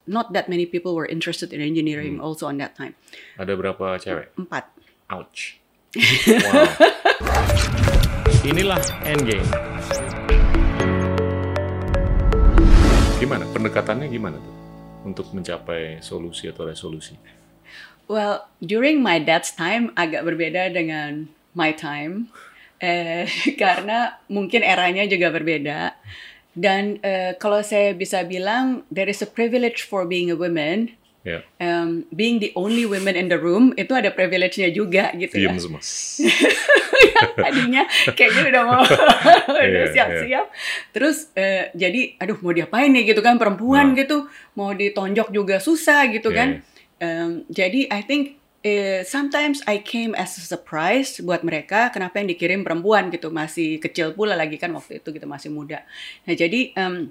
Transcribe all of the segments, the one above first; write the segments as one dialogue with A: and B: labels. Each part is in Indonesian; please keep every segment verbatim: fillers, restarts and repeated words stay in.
A: not that many people were interested in engineering hmm. also on that time.
B: Ada berapa cewek?
A: Empat.
B: Ouch. Wow. Inilah Endgame. Gimana pendekatannya gimana tuh untuk mencapai solusi atau resolusi?
A: Well, during my dad's time agak berbeda dengan my time. Eh, karena mungkin eranya juga berbeda. Dan uh, kalau saya bisa bilang, there is a privilege for being a woman.
B: Yeah.
A: Um, being the only woman in the room, itu ada privilege-nya juga gitu ya.
B: Diem semua.
A: Tadinya kayaknya udah mau udah siap-siap. Terus uh, jadi, aduh mau diapain nih gitu kan, perempuan nah. gitu. Mau ditonjok juga susah gitu yeah. kan. Um, jadi I think Uh, sometimes I came as a surprise buat mereka kenapa yang dikirim perempuan gitu, masih kecil pula lagi kan waktu itu gitu, masih muda. Nah jadi um,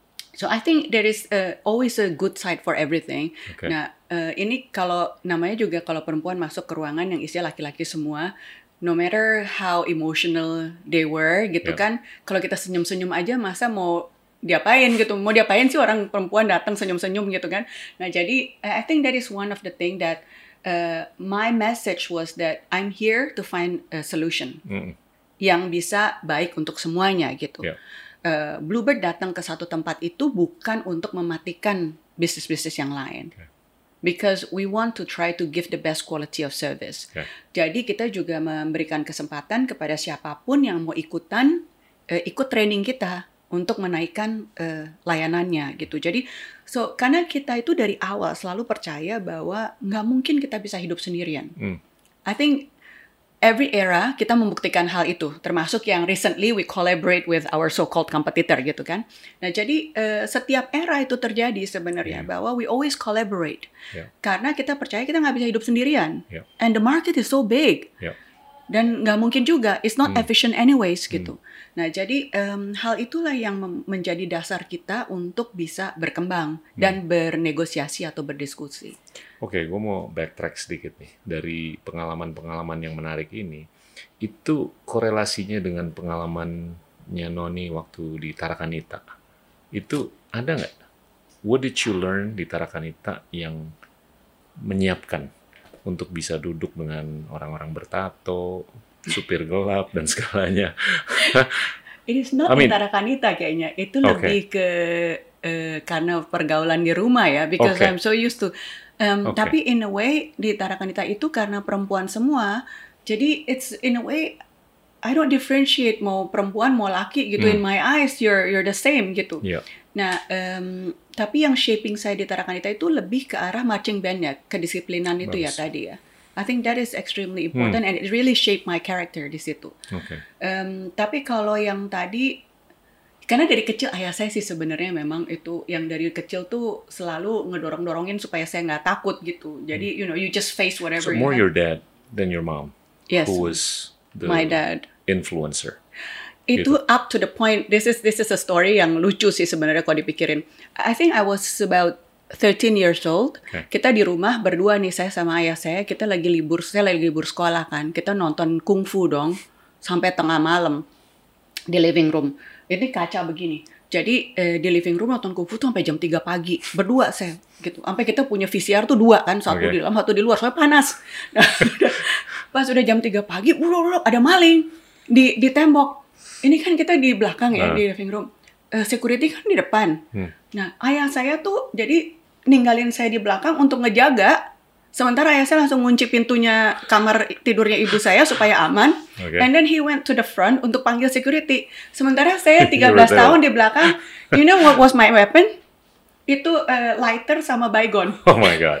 A: so I think there is uh, always a good side for everything. Okay. Nah uh, ini kalau namanya juga kalau perempuan masuk ke ruangan yang isinya laki-laki semua, no matter how emotional they were gitu yeah. kan, kalau kita senyum-senyum aja masa mau diapain gitu, mau diapain sih orang perempuan datang senyum-senyum gitu kan. Nah jadi I think that is one of the thing that Uh, my message was that I'm here to find a solution mm. yang bisa baik untuk semuanya gitu. Yeah. Uh, Bluebird datang ke satu tempat itu bukan untuk mematikan bisnis-bisnis yang lain. Okay. Because we want to try to give the best quality of service. Okay. Jadi kita juga memberikan kesempatan kepada siapapun yang mau ikutan, uh, ikut training kita untuk menaikkan uh, layanannya gitu. Jadi, so karena kita itu dari awal selalu percaya bahwa nggak mungkin kita bisa hidup sendirian. Mm. I think every era kita membuktikan hal itu, termasuk yang recently we collaborate with our so-called competitor gitu kan. Nah jadi uh, setiap era itu terjadi sebenarnya yeah. bahwa we always collaborate. Yeah. Karena kita percaya kita nggak bisa hidup sendirian. Yeah. And the market is so big. Yeah. Dan nggak mungkin juga, it's not hmm. efficient anyways gitu. Hmm. Nah jadi um, hal itulah yang mem- menjadi dasar kita untuk bisa berkembang hmm. dan bernegosiasi atau berdiskusi.
B: Oke, gue mau backtrack sedikit nih dari pengalaman-pengalaman yang menarik ini. Itu korelasinya dengan pengalamannya Noni waktu di Tarakanita. Itu ada nggak? What did you learn di Tarakanita yang menyiapkan untuk bisa duduk dengan orang-orang bertato, supir gelap, dan segalanya?
A: It is not I mean, Tarakanita kayaknya. Itu okay. lebih ke uh, karena pergaulan di rumah ya. Because okay. I'm so used to. Um, okay. Tapi in a way, di Tarakanita itu karena perempuan semua. Jadi it's in a way, I don't differentiate mau perempuan, mau laki gitu. Hmm. In my eyes, you're you're the same gitu. Yeah. Nah, um, tapi yang shaping saya di Tarakanita itu lebih ke arah marching band-nya, kedisiplinan itu Bagus. ya tadi ya. I think that is extremely important hmm. and it really shaped my character di situ. Okay. Um, tapi kalau yang tadi, karena dari kecil ayah saya sih sebenarnya memang itu yang dari kecil tuh selalu ngedorong-dorongin supaya saya nggak takut gitu. Jadi hmm. you know you just face whatever.
B: So
A: you
B: more
A: have.
B: Your dad than your mom.
A: Yes.
B: Who was the
A: my dad.
B: Influencer.
A: Itu gitu. Up to the point, this is this is a story yang lucu sih sebenarnya kalau dipikirin. I think I was about thirteen years old. Okay. Kita di rumah berdua nih, saya sama ayah saya, kita lagi libur, saya lagi libur sekolah kan. Kita nonton kungfu dong, sampai tengah malam di living room. Ini kaca begini. Jadi eh, di living room nonton kungfu tuh sampai jam tiga pagi. Berdua saya gitu. Sampai kita punya V C R tuh dua kan, satu okay. di dalam, satu di luar, soalnya panas. Pas udah jam tiga pagi, buruk-buruk ada maling di di tembok. Ini kan kita di belakang ya, nah. di living room. Uh, security kan di depan. Hmm. Nah, ayah saya tuh jadi ninggalin saya di belakang untuk ngejaga. Sementara ayah saya langsung ngunci pintunya kamar tidurnya ibu saya supaya aman. Okay. And then he went to the front untuk panggil security. Sementara saya tiga belas tahun di belakang. You know what was my weapon? Itu uh, lighter sama baygon.
B: Oh my God.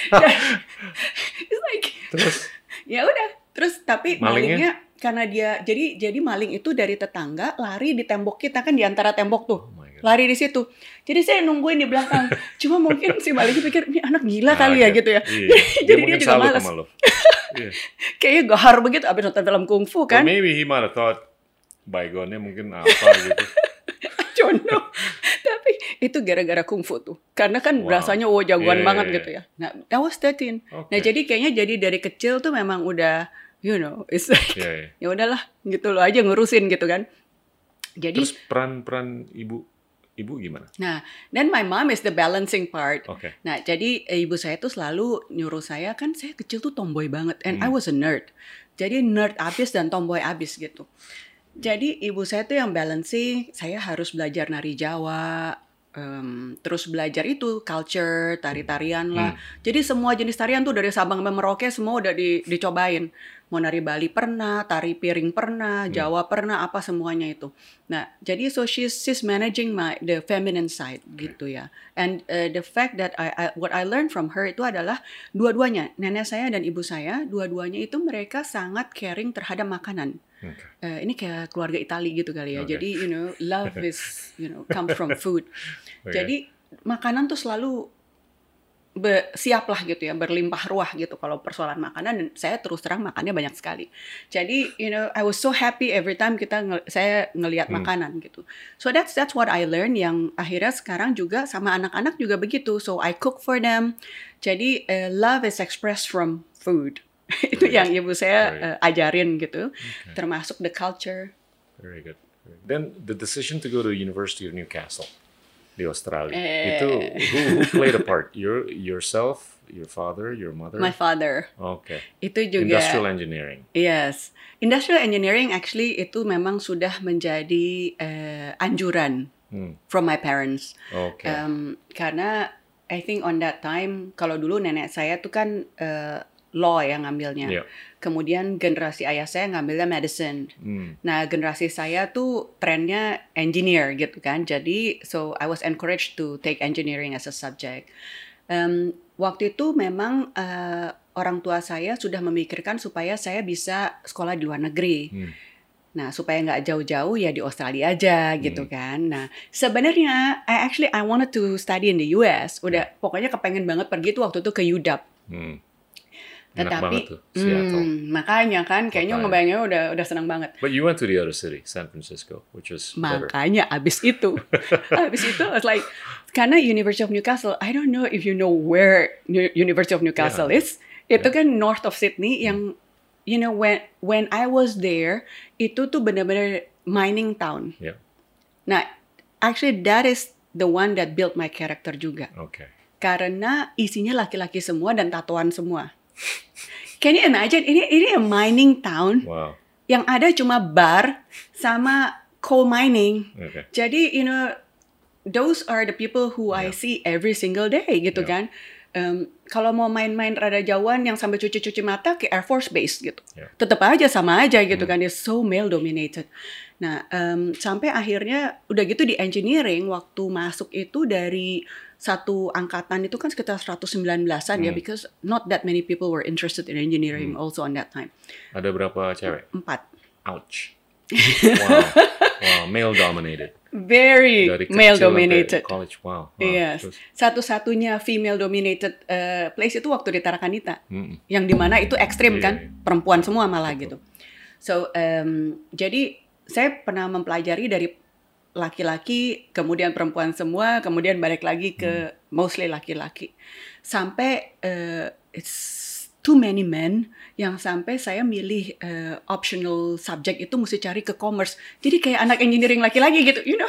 A: It's like,
B: terus?
A: Ya udah. Terus tapi malingnya, malingnya karena dia jadi jadi maling itu dari tetangga lari di tembok kita kan di antara tembok tuh. Oh lari di situ. Jadi saya nungguin di belakang. Cuma mungkin si malingnya pikir ini anak gila nah, kali ya gitu ya.
B: Iya.
A: Jadi dia, dia juga malas. Yeah. Kayaknya gahar begitu abis nonton film kungfu kan.
B: Or maybe he might have thought baygonnya mungkin apa gitu.
A: I don't know. Tapi itu gara-gara kungfu tuh. Karena kan wow. rasanya wow jagoan yeah, banget yeah, gitu ya. Nah, that was thirteen. Okay. Nah, jadi kayaknya jadi dari kecil tuh memang udah you know, it's like yeah, yeah. ya udahlah gitu loh aja ngurusin gitu kan. Jadi
B: terus peran-peran ibu ibu gimana?
A: Nah, then my mom is the balancing part.
B: Oke.
A: Nah, jadi eh, ibu saya tuh selalu nyuruh saya, kan saya kecil tuh tomboy banget, and I
B: Hmm.
A: was a nerd. Jadi nerd abis dan tomboy abis gitu. Jadi ibu saya tuh yang balancing, saya harus belajar nari Jawa, em, terus belajar itu culture, tari-tarian lah.
B: Hmm.
A: Jadi semua jenis tarian tuh dari Sabang sampai Merauke semua udah di- dicobain. Mau nari Bali pernah, tari piring pernah,
B: Hmm.
A: Jawa pernah, apa semuanya itu. Nah, jadi so she's, she's managing my the feminine side gitu ya. And uh, the fact that I, I what I learned from her itu adalah dua-duanya, nenek saya dan ibu saya, dua-duanya itu mereka sangat caring terhadap makanan.
B: Oke.
A: Eh, ini kayak keluarga Itali gitu kali ya.
B: Oke.
A: Jadi you know love is you know comes from food.
B: Oke.
A: Jadi makanan tuh selalu be- siap lah gitu ya, berlimpah ruah gitu kalau persoalan makanan, dan saya terus terang makannya banyak sekali. Jadi you know I was so happy every time kita nge- saya ngelihat
B: Hmm.
A: makanan gitu. So that's that's what I learned, yang akhirnya sekarang juga sama anak-anak juga begitu. So I cook for them. Jadi eh, love is expressed from food. Itu
B: Very
A: yang
B: good.
A: ibu saya
B: Very
A: eh, ajarin gitu,
B: Okay.
A: termasuk the culture.
B: Very good. Then the decision to go to University of Newcastle di Australia,
A: Eh.
B: itu who, who played a part? Your yourself, your father, your mother?
A: My father.
B: Okay.
A: Itu juga.
B: Industrial engineering.
A: Yes. Industrial engineering actually itu memang sudah menjadi eh, anjuran
B: Hmm.
A: from my parents.
B: Okay.
A: Um, karena I think on that time, kalau dulu nenek saya tuh kan eh, law yang ngambilnya.
B: Yeah.
A: Kemudian generasi ayah saya ngambilnya medicine.
B: Hmm.
A: Nah, generasi saya tuh trennya engineer gitu kan. Jadi, so I was encouraged to take engineering as a subject. Um, waktu itu memang eh, orang tua saya sudah memikirkan supaya saya bisa sekolah di luar negeri.
B: Hmm.
A: Nah, supaya nggak jauh-jauh ya di Australia aja gitu
B: Hmm.
A: kan. Nah, sebenarnya I actually I wanted to study in the U S. Udah pokoknya kepengen banget pergi tuh waktu itu ke U W.
B: Hmm. Enak
A: Tetapi,
B: banget tuh, Seattle.
A: hmm, makanya kan kayaknya
B: Makanya.
A: ngebayangnya udah udah senang banget.
B: But you went to the other city, San Francisco, which was better.
A: Makanya abis itu, abis itu I was like, karena University of Newcastle, I don't know if you know where New- University of Newcastle
B: Yeah.
A: is. Itu
B: Yeah.
A: kan north of Sydney, yang you know when when I was there, itu tuh benar-benar mining town.
B: Yeah.
A: Nah, actually that is the one that built my character juga.
B: Okay.
A: Karena isinya laki-laki semua dan tatoan semua. Can you imagine? Ini ini a mining town
B: Wow.
A: yang ada cuma bar sama coal mining.
B: Okay.
A: Jadi, you know, those are the people who I
B: Yeah.
A: see every single day gitu
B: Yeah.
A: kan. Um, kalau mau main-main rada jauhan yang sampai cuci-cuci mata ke Air Force Base gitu.
B: Yeah.
A: Tetap aja sama aja gitu
B: Hmm.
A: kan. Dia so male dominated. Nah, um, sampai akhirnya udah gitu di engineering waktu masuk itu dari satu angkatan itu kan sekitar seratus sembilan belasan ya,
B: Hmm.
A: because not that many people were interested in engineering
B: Hmm.
A: also on that time.
B: Ada berapa cewek?
A: Empat.
B: Ouch. Wow. Wow. Male dominated.
A: Very
B: Dari kecil
A: male
B: sampai
A: dominated.
B: college. Wow. Wow.
A: Yes.
B: Terus,
A: Satu-satunya female dominated uh, place itu waktu di Tarakanita.
B: mm-mm.
A: Yang dimana itu ekstrim
B: Iya,
A: kan,
B: iya.
A: perempuan semua malah
B: Betul.
A: gitu. So, um, jadi saya pernah mempelajari dari laki-laki, kemudian perempuan semua, kemudian balik lagi ke mostly laki-laki. Sampai uh, it's too many men yang sampai saya milih uh, optional subject itu mesti cari ke commerce. Jadi kayak anak engineering laki-laki gitu, you know.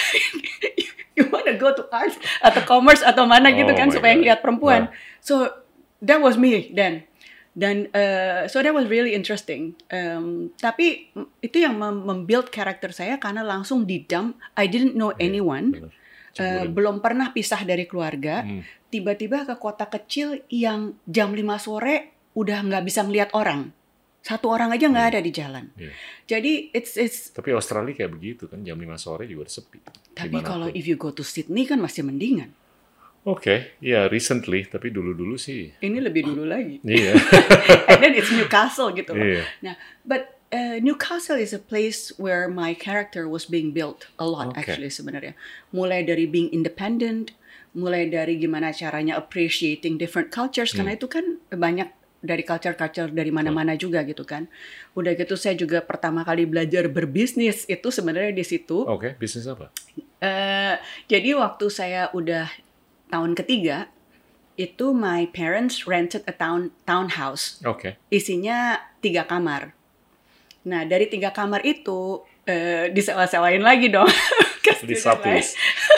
A: You wanna go to arts atau commerce atau mana gitu
B: Oh
A: kan
B: my
A: supaya
B: God.
A: ngeliat perempuan.
B: Wow.
A: So that was me then. Dan uh, so that was really interesting. Um, tapi mm, itu yang mem- membuild karakter saya karena langsung di dump. I didn't know
B: Iya,
A: anyone.
B: bener.
A: Uh,
B: Ceburin.
A: belum pernah pisah dari keluarga.
B: Hmm.
A: Tiba-tiba ke kota kecil yang jam lima sore udah nggak bisa ngeliat orang. Satu orang aja nggak
B: Iya.
A: ada di jalan.
B: Iya.
A: Jadi it's it's.
B: Tapi Australia kayak begitu kan, jam lima sore juga udah sepi.
A: Tapi
B: Dimanapun.
A: kalau if you go to Sydney kan masih mendingan.
B: Oke, ya recently, tapi dulu-dulu sih.
A: Ini lebih dulu lagi.
B: Iya.
A: And then it's Newcastle gitu loh.
B: Iya.
A: Nah, but uh, Newcastle is a place where my character was being built a lot
B: Okay.
A: actually sebenarnya. Mulai dari being independent, mulai dari gimana caranya appreciating different cultures,
B: Hmm.
A: karena itu kan banyak dari culture-culture dari mana-mana juga gitu kan. Udah gitu saya juga pertama kali belajar berbisnis itu sebenarnya di situ.
B: Oke, bisnis apa?
A: Eh, jadi waktu saya udah tahun ketiga, itu my parents rented a town townhouse.
B: Oke.
A: Isinya tiga kamar. Nah, dari tiga kamar itu eh, disewa-sewain lagi dong. Ke student
B: Disatulis.
A: life.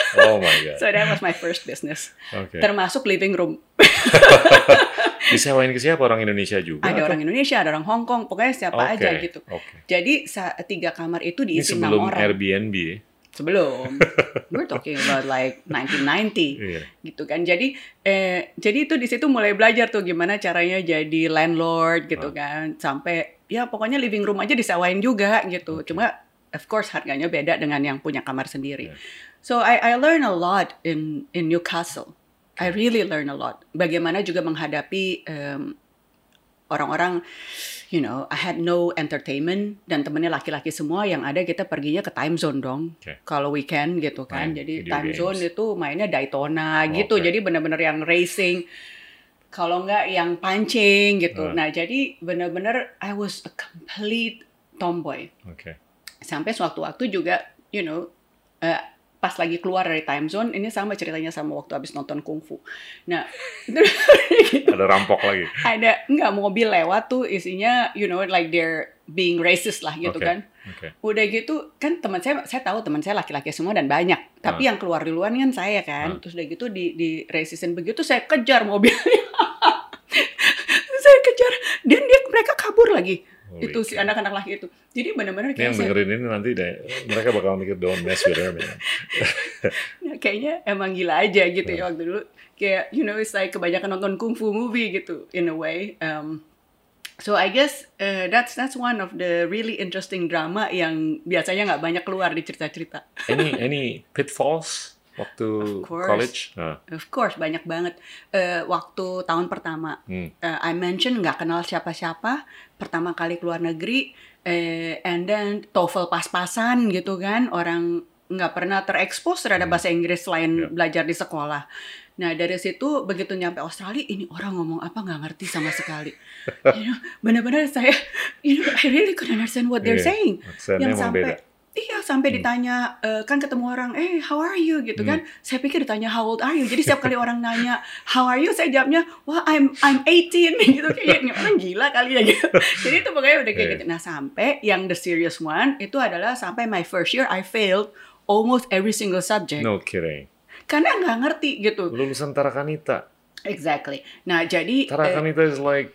B: Oh my God.
A: So that was my first business.
B: Okay.
A: Termasuk living room.
B: Disewain ke siapa? Orang Indonesia juga?
A: Ada
B: atau?
A: orang Indonesia, ada orang Hong Kong, pokoknya siapa
B: Okay.
A: aja gitu.
B: Okay.
A: Jadi sa- tiga kamar itu
B: Ini
A: diisi enam
B: sebelum
A: orang.
B: Airbnb ya?
A: Sebelum. We're talking about like nineteen ninety.
B: Iya.
A: Gitu kan. Jadi eh jadi itu di situ mulai belajar tuh gimana caranya jadi landlord gitu
B: Ah.
A: kan. Sampai ya pokoknya living room aja disewain juga gitu.
B: Okay.
A: Cuma of course harganya beda dengan yang punya kamar sendiri.
B: Yeah.
A: So I I learn a lot in in Newcastle. I really learn a lot. Bagaimana juga menghadapi um, orang-orang, you know, I had no entertainment dan temennya laki-laki semua yang ada kita perginya ke time zone dong.
B: Okay.
A: Kalau weekend gitu kan.
B: Main
A: Jadi
B: video
A: time
B: games.
A: zone itu mainnya Daytona
B: Oh,
A: gitu.
B: okay.
A: Jadi benar-benar yang racing. Kalau nggak yang pancing gitu.
B: Uh.
A: Nah, jadi benar-benar I was a complete tomboy.
B: Okay.
A: Sampai sewaktu-waktu juga, you know, uh, pas lagi keluar dari time zone, ini sama ceritanya sama waktu habis nonton kungfu. Nah, itu
B: Ada rampok lagi.
A: ada nggak mobil lewat tuh isinya, you know, like they're being racist lah gitu
B: Okay.
A: kan.
B: Okay.
A: Udah gitu kan teman saya, saya tahu teman saya laki-laki semua dan banyak. Tapi
B: Ah.
A: yang keluar duluan kan saya kan.
B: Ah.
A: Terus udah gitu di di racistin begitu saya kejar mobilnya. Saya kejar dan dia mereka kabur lagi.
B: Holy
A: Itu si
B: cow.
A: anak-anak laki itu. Jadi benar-benar
B: Ini
A: kayak
B: yang
A: saya,
B: dengerin ini nanti deh, mereka bakal mikir don't mess with her, man.
A: kayaknya emang gila aja gitu ya
B: Ah.
A: waktu dulu. Kayak you know it's like kebanyakan nonton kungfu movie gitu in a way. Um, So I guess uh, that's that's one of the really interesting drama yang biasanya nggak banyak keluar di cerita-cerita.
B: Any any pitfalls waktu
A: Of course.
B: college? Ah.
A: Of course banyak banget. Uh, waktu tahun pertama,
B: Hmm.
A: uh, I mentioned nggak kenal siapa-siapa, pertama kali keluar negeri, uh, and then TOEFL pas-pasan gitu kan, orang nggak pernah terekspos terhadap
B: Hmm.
A: bahasa Inggris selain
B: Yeah.
A: belajar di sekolah. Nah dari situ begitu nyampe Australia, ini orang ngomong apa nggak ngerti sama sekali. You know, benar-benar saya, you know, I really couldn't understand what they're
B: Iya,
A: saying.
B: aksennya
A: Yang
B: emang
A: sampai,
B: beda.
A: iya sampai ditanya, eh, kan ketemu orang, eh how are you gitu kan. Saya pikir ditanya how old are you. Jadi setiap kali orang nanya how are you, saya jawabnya, wah I'm I'm eighteen gitu. Kayak ini orang gila kali ya gitu. Jadi itu pokoknya udah kayak
B: Iya.
A: gitu. Nah sampai yang the serious one itu adalah sampai my first year I failed almost every single subject.
B: No kidding.
A: Karena nggak ngerti gitu.
B: Lulusan Tarakanita.
A: Exactly. Nah jadi eh,
B: Tarakanita is like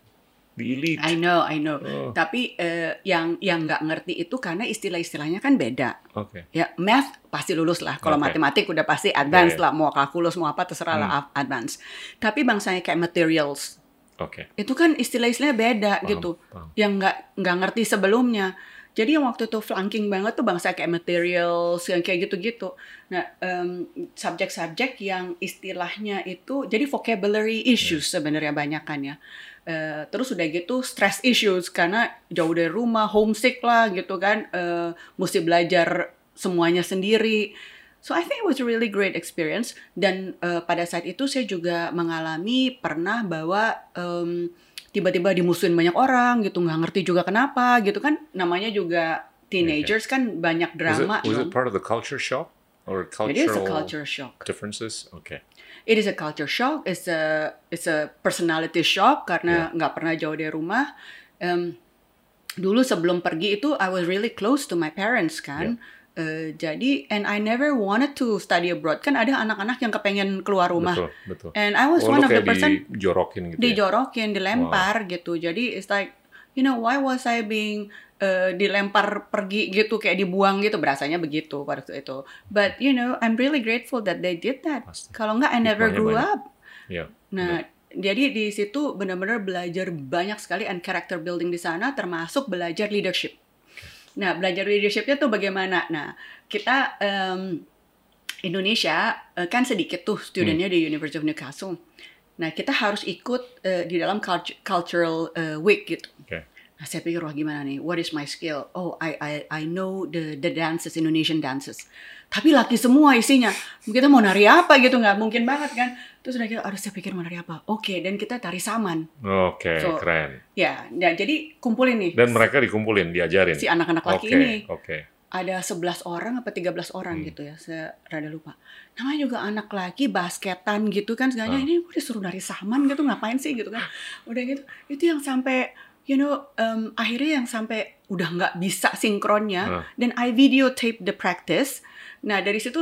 B: the elite.
A: I know, I know.
B: Oh.
A: Tapi eh, yang yang nggak ngerti itu karena istilah-istilahnya kan beda.
B: Oke.
A: Ya, math pasti lulus lah. Kalau
B: Oke.
A: matematik udah pasti advance
B: Iya, iya.
A: lah. Mau kalkulus, mau apa, terserah lah
B: Hmm.
A: advance. Tapi bangsanya kayak materials.
B: Oke.
A: Itu kan istilah-istilahnya beda
B: Paham,
A: gitu.
B: paham.
A: Yang nggak nggak ngerti sebelumnya. Jadi yang waktu itu flunking banget tuh bangsa kayak materials, yang kayak gitu-gitu. Nah, em, subjek-subjek yang istilahnya itu, jadi vocabulary issues sebenarnya banyak kan ya. Eh, terus udah gitu stress issues, karena jauh dari rumah, homesick lah gitu kan. Eh, mesti belajar semuanya sendiri. So I think it was a really great experience. Dan eh, pada saat itu saya juga mengalami pernah bahwa em, tiba-tiba dimusuhin banyak orang gitu, nggak ngerti juga kenapa gitu kan, namanya juga teenagers kan banyak
B: Was it,
A: drama.
B: was it
A: dong.
B: part of the culture shock or
A: It is a
B: cultural
A: culture shock.
B: differences? Okay.
A: It is a culture shock. It's a it's a personality shock karena nggak pernah jauh dari rumah. Em, dulu sebelum pergi itu I was really close to my parents kan. Eh, jadi and I never wanted to study abroad. Kan ada anak-anak yang kepengen keluar rumah.
B: Betul, betul.
A: And I was
B: Oh,
A: one
B: lu
A: of the
B: kayak
A: person
B: dijorokin gitu ya?
A: dijorokin, dilempar gitu. Jadi it's like, you know, why was I being uh, dilempar pergi gitu, kayak dibuang gitu, berasanya begitu pada waktu itu. But you know, I'm really grateful that they did that.
B: Pasti.
A: Kalau nggak, I never
B: Hikmahnya
A: grew
B: banyak.
A: up.
B: Iya.
A: Nah, jadi di situ benar-benar belajar banyak sekali and character building di sana, termasuk belajar leadership. Nah, belajar leadershipnya tuh bagaimana? Nah, kita em, Indonesia eh, kan sedikit tuh studentnya di University of Newcastle. Nah, kita harus ikut eh, di dalam cult- cultural eh, week gitu.
B: Oke.
A: Nah, saya pikir wah gimana nih? What is my skill? Oh, I I I know the the dances, Indonesian dances. Tapi laki semua isinya. Kita mau nari apa gitu, nggak mungkin banget kan? Terus udah gitu, aduh saya pikir mau nari apa? Oke, dan kita tari saman.
B: Oke,
A: So,
B: keren.
A: Ya, nah, jadi kumpulin nih
B: Dan mereka dikumpulin, diajarin.
A: si anak-anak laki
B: Oke,
A: ini.
B: oke.
A: Ada sebelas orang apa tiga belas orang
B: Hmm.
A: gitu ya, saya rada lupa. Namanya juga anak laki, basketan gitu kan, segalanya
B: Ah.
A: ini udah disuruh nari saman gitu, ngapain sih gitu kan. Udah gitu, itu yang sampai, you know, um, akhirnya yang sampai udah nggak bisa sinkronnya,
B: Ah.
A: dan I videotape the practice. Nah dari situ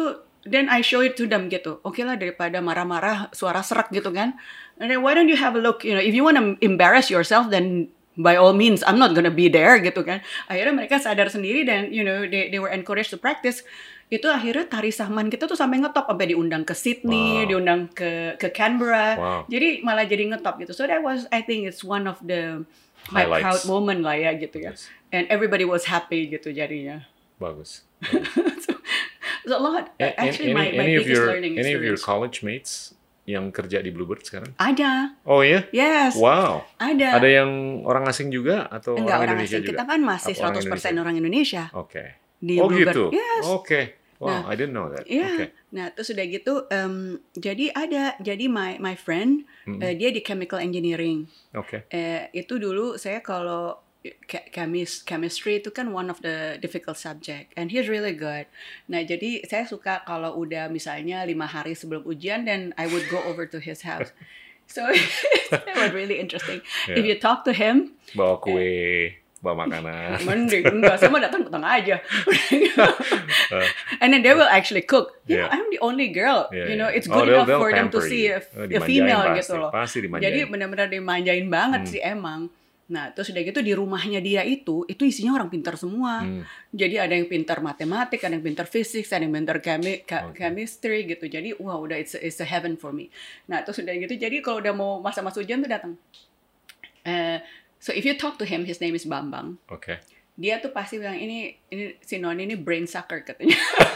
A: then I show it to them gitu. Oke lah, daripada marah-marah suara serak gitu kan. And then why don't you have a look, you know, if you want to embarrass yourself, then by all means, I'm not gonna be there gitu kan. Akhirnya mereka sadar sendiri dan you know they they were encouraged to practice. Itu akhirnya tari Sahman kita tuh sampai ngetop, sampai diundang ke Sydney, wow. diundang ke ke Canberra. Wow. Jadi malah jadi ngetop gitu. So that was, I think it's one of the my highlights. Proud moment lah ya gitu ya. Yes. And everybody was happy gitu jadinya.
B: Bagus.
A: so, so a lot. A- Actually, any, my, my
B: any
A: biggest
B: your,
A: learning
B: any
A: experience.
B: of your college mates yang kerja di Bluebird sekarang?
A: Ada.
B: Oh iya?
A: Yes.
B: Wow.
A: Ada.
B: Ada yang orang asing juga atau
A: Enggak,
B: orang,
A: orang
B: Indonesia
A: asing.
B: juga?
A: Kita kan masih
B: Apa
A: seratus persen orang Indonesia.
B: Oke. Okay.
A: Di
B: oh
A: Bluebird.
B: gitu?
A: Yes.
B: Oke. Okay. Wow,
A: nah,
B: I didn't know that.
A: Iya.
B: Okay.
A: Nah, terus udah gitu, um, jadi ada, jadi my my friend, mm-hmm. uh, dia di chemical engineering.
B: Oke. Okay.
A: Uh, itu dulu saya kalau chemis chemistry itu kan one of the difficult subject, and he's really good. Nah, jadi saya suka kalau udah misalnya lima hari sebelum ujian, then I would go over to his house. So that was really interesting. Yeah. If you talk to him,
B: bawa kue. Bawa makanan.
A: Mending enggak, saya mah datang-datang aja. And then they will actually cook. You yeah. know, I'm the only girl. Yeah, you know, it's good oh, enough for them to see a, a female pasti, gitu loh.
B: Pasti
A: jadi benar-benar dimanjain banget hmm. sih emang. Nah, terus udah gitu di rumahnya dia itu, itu isinya orang pintar semua. Hmm. Jadi ada yang pintar matematik, ada yang pintar fisik, ada yang pintar chemi- okay. chemistry gitu. Jadi wow, udah it's a, it's a heaven for me. Nah, terus udah gitu, jadi kalau udah mau masa-masa ujian tuh datang. Eh, So if you talk to him, his name is Bambang. Oke. Okay. Dia tuh pasti bilang ini ini si Noni ini brain sucker katanya.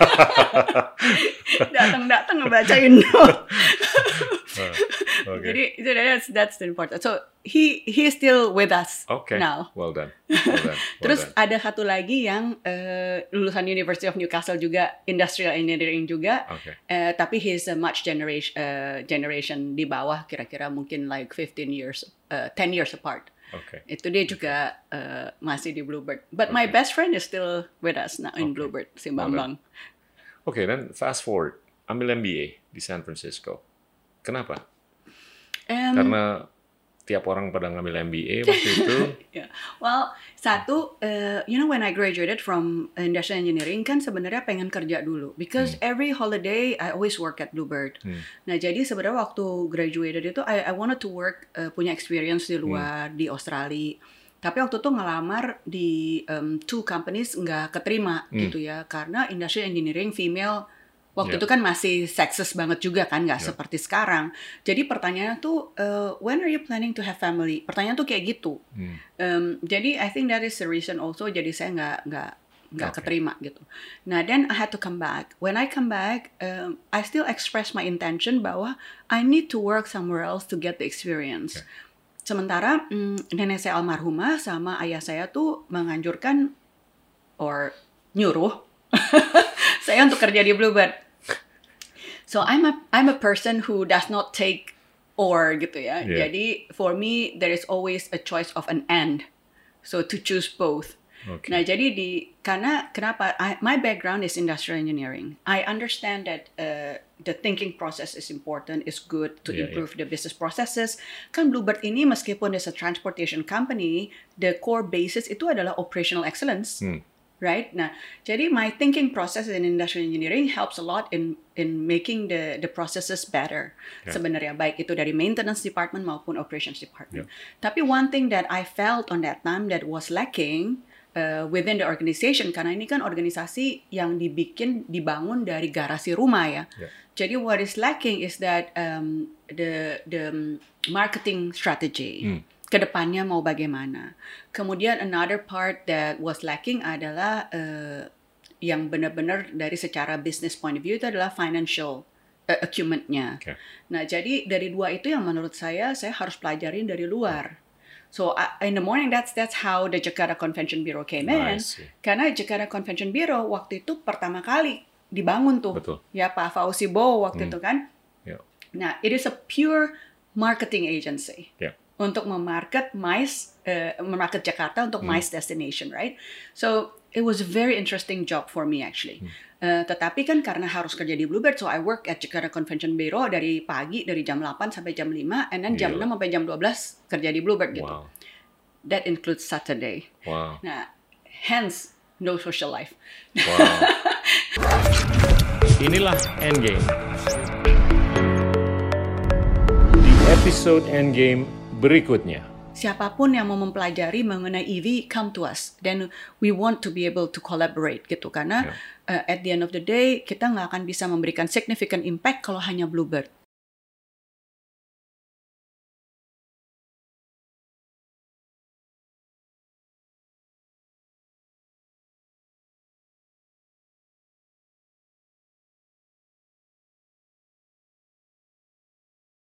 A: Datang-datang ngebacain note. uh, okay. Jadi so that's that's the important. So he he is still with us okay. now.
B: Well done. Well done. Well
A: Terus
B: done.
A: ada satu lagi yang uh, lulusan University of Newcastle juga, industrial engineering juga. Okay. Uh, tapi he's a much generation uh, generation di bawah, kira-kira mungkin like fifteen years, uh, ten years apart. Okay. Itu dia juga uh, masih di Bluebird. But okay. my best friend is still with us now in okay. Bluebird, si Bambang.
B: Oke, okay, dan fast forward, ambil M B A di San Francisco. Kenapa? Um, Karena tiap orang pada ngambil M B A waktu itu.
A: Yeah. Well, satu, uh, you know when I graduated from industrial engineering kan sebenarnya pengen kerja dulu, because hmm. every holiday I always work at Bluebird. Hmm. Nah jadi sebenarnya waktu graduated itu I, I wanted to work uh, punya experience di luar hmm. di Australia. Tapi waktu itu ngelamar di um, two companies nggak keterima hmm. gitu ya, karena industrial engineering female. Waktu yeah. itu kan masih sexist banget juga kan, nggak yeah. seperti sekarang. Jadi pertanyaannya tuh, uh, when are you planning to have family? Pertanyaan tuh kayak gitu. Hmm. Um, jadi I think that is the reason also. Jadi saya nggak nggak nggak okay. keterima gitu. Nah, then I had to come back. When I come back, um, I still express my intention bahwa I need to work somewhere else to get the experience. Okay. Sementara um, nenek saya almarhumah sama ayah saya tuh menganjurkan or nyuruh saya untuk kerja di Bluebird. So I'm a I'm a person who does not take or gitu ya. Yeah. Jadi for me there is always a choice of an and. So to choose both. Okay. Nah jadi di karena kenapa I, my background is industrial engineering. I understand that uh, the thinking process is important, is good to yeah, improve yeah. the business processes. Kan Bluebird ini meskipun is a transportation company, the core basis itu adalah operational excellence. Hmm. Right? Nah, jadi my thinking process in industrial engineering helps a lot in in making the the processes better. Yeah. Sebenarnya baik itu dari maintenance department maupun operations department. Yeah. Tapi one thing that I felt on that time that was lacking uh, within the organization, karena ini kan organisasi yang dibikin dibangun dari garasi rumah ya. Yeah. Jadi what is lacking is that um, the the marketing strategy. Mm. Kedepannya mau bagaimana. Kemudian another part that was lacking adalah uh, yang benar-benar dari secara business point of view itu adalah financial uh, acumen-nya. Okay. Nah, jadi dari dua itu yang menurut saya saya harus pelajarin dari luar. So uh, in the morning that's that's how the Jakarta Convention Bureau came in. Karena Jakarta Convention Bureau waktu itu pertama kali dibangun tuh. Betul. Ya Pak Fauzi Bowo waktu hmm. itu kan. Yeah. Nah, it is a pure marketing agency. Yeah. Untuk memarket MICE, uh, memarket Jakarta untuk hmm. MICE destination, right? So it was a very interesting job for me actually. Hmm. Uh, tetapi kan karena harus kerja di Bluebird, so I work at Jakarta Convention Bureau dari pagi dari jam delapan sampai jam lima, and then jam yeah. enam sampai jam dua belas kerja di Bluebird gitu.
B: Wow.
A: That includes Saturday. Wow. Nah, hence no social life.
B: Wow. Inilah Endgame. Di episode Endgame berikutnya.
A: Siapapun yang mau mempelajari mengenai E V, come to us. Then we want to be able to collaborate gitu. Karena yeah. uh, at the end of the day, kita nggak akan bisa memberikan significant impact kalau hanya Bluebird.